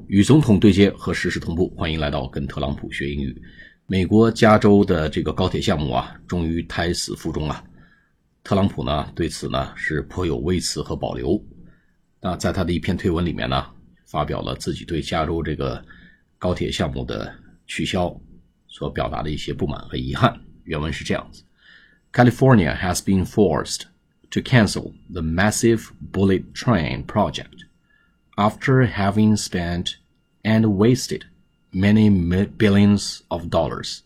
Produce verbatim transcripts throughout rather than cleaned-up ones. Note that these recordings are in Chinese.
与总统对接和实时同步，欢迎来到跟特朗普学英语。美国加州的这个高铁项目啊，终于胎死腹中啊。特朗普呢对此呢是颇有微词和保留。那在他的一篇推文里面呢，发表了自己对加州这个高铁项目的取消所表达的一些不满和遗憾。原文是这样子 ：California has been forced to cancel the massive bullet train project after having spent and wasted many billions of dollars.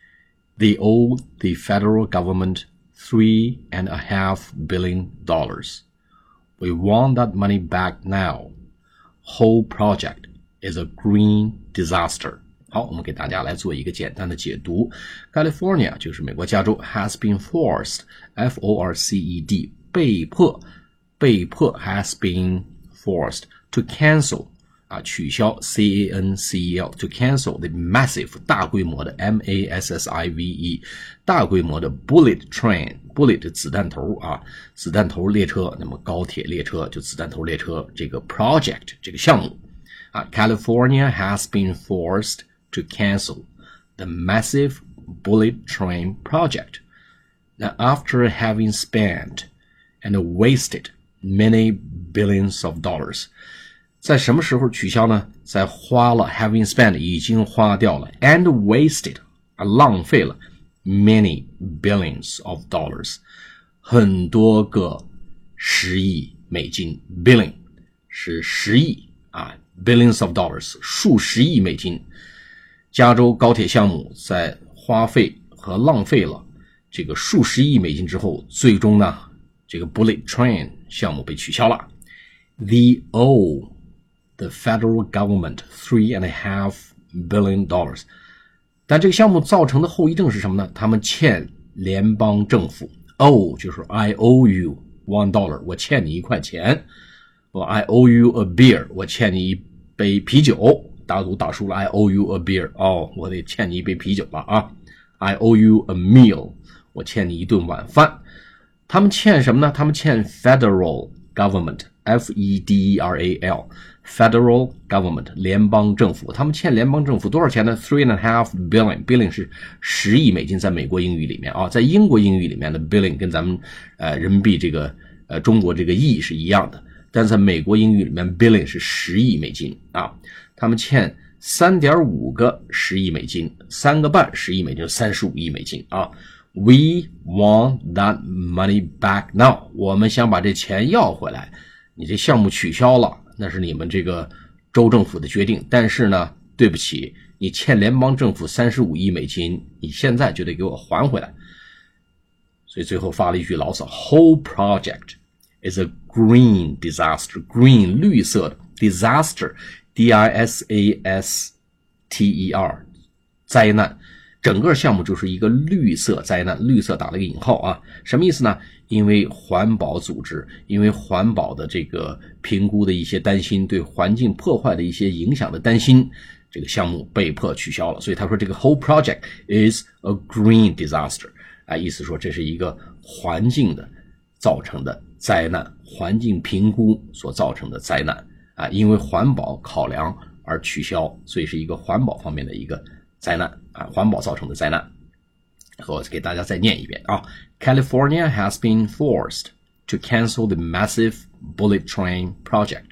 They owe the federal government three and a half billion dollars. We want that money back now. Whole project is a green disaster. 好，我们给大家来做一个简单的解读。California 就是美国加州 has been forced, F O R C E D 被迫被迫 has been forced to cancel 啊取消 C A N C E L to cancel the massive 大规模的 M A S S I V E 大规模的 bullet train bullet 子弹头啊子弹头列车，那么高铁列车就子弹头列车这个 project 这个项目啊 California has been forced to cancel the massive bullet train project. Now after having spent and wasted many billions of dollars. 在什么时候取消呢？在花了 having spent 已经花掉了 and wasted 啊浪费了 many billions of dollars 很多个十亿美金 billion 是十亿啊 billions of dollars 数十亿美金。加州高铁项目在花费和浪费了这个数十亿美金之后，最终呢这个 bullet train 项目被取消了。They owe the federal government three and a half billion dollars. 但这个项目造成的后遗症是什么呢？他们欠联邦政府 owe 就是 I owe you one dollar 我欠你一块钱。I owe you a beer 我欠你一杯啤酒。打赌打输了 I owe you a beer 哦，我得欠你一杯啤酒了啊。I owe you a meal 我欠你一顿晚饭。他们欠什么呢？他们欠 federal government F E D E R A L federal government 联邦政府。他们欠联邦政府多少钱呢？ three and a half billion billion 是十亿美金，在美国英语里面啊，在英国英语里面的 billion 跟咱们呃人民币这个呃中国这个亿是一样的，但是在美国英语里面 billion 是十亿美金啊。他们欠 三点五 个十亿美金，三个半十亿美金，三十五亿美金啊。We want that money back now. 我们想把这钱要回来。你这项目取消了，那是你们这个州政府的决定，但是呢，对不起，你欠联邦政府三十五亿美金，你现在就得给我还回来。所以最后发了一句牢骚 Whole project is a green disaster. Green 绿色的 disaster D I S A S T E R 灾难，整个项目就是一个绿色灾难，绿色打了个引号啊，什么意思呢？因为环保组织，因为环保的这个评估的一些担心，对环境破坏的一些影响的担心，这个项目被迫取消了。所以他说这个 whole project is a green disaster 啊，意思说这是一个环境的造成的灾难，环境评估所造成的灾难。啊，因为环保考量而取消，所以是一个环保方面的一个灾难啊，环保造成的灾难。我给大家再念一遍啊 ，California has been forced to cancel the massive bullet train project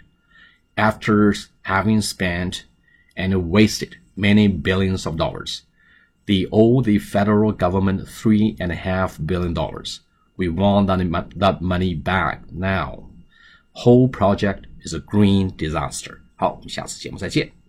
after having spent and wasted many billions of dollars. They owe the federal government three and a half billion dollars. We want that, that money back now. Whole project is a green disaster. 好，我们下次节目再见。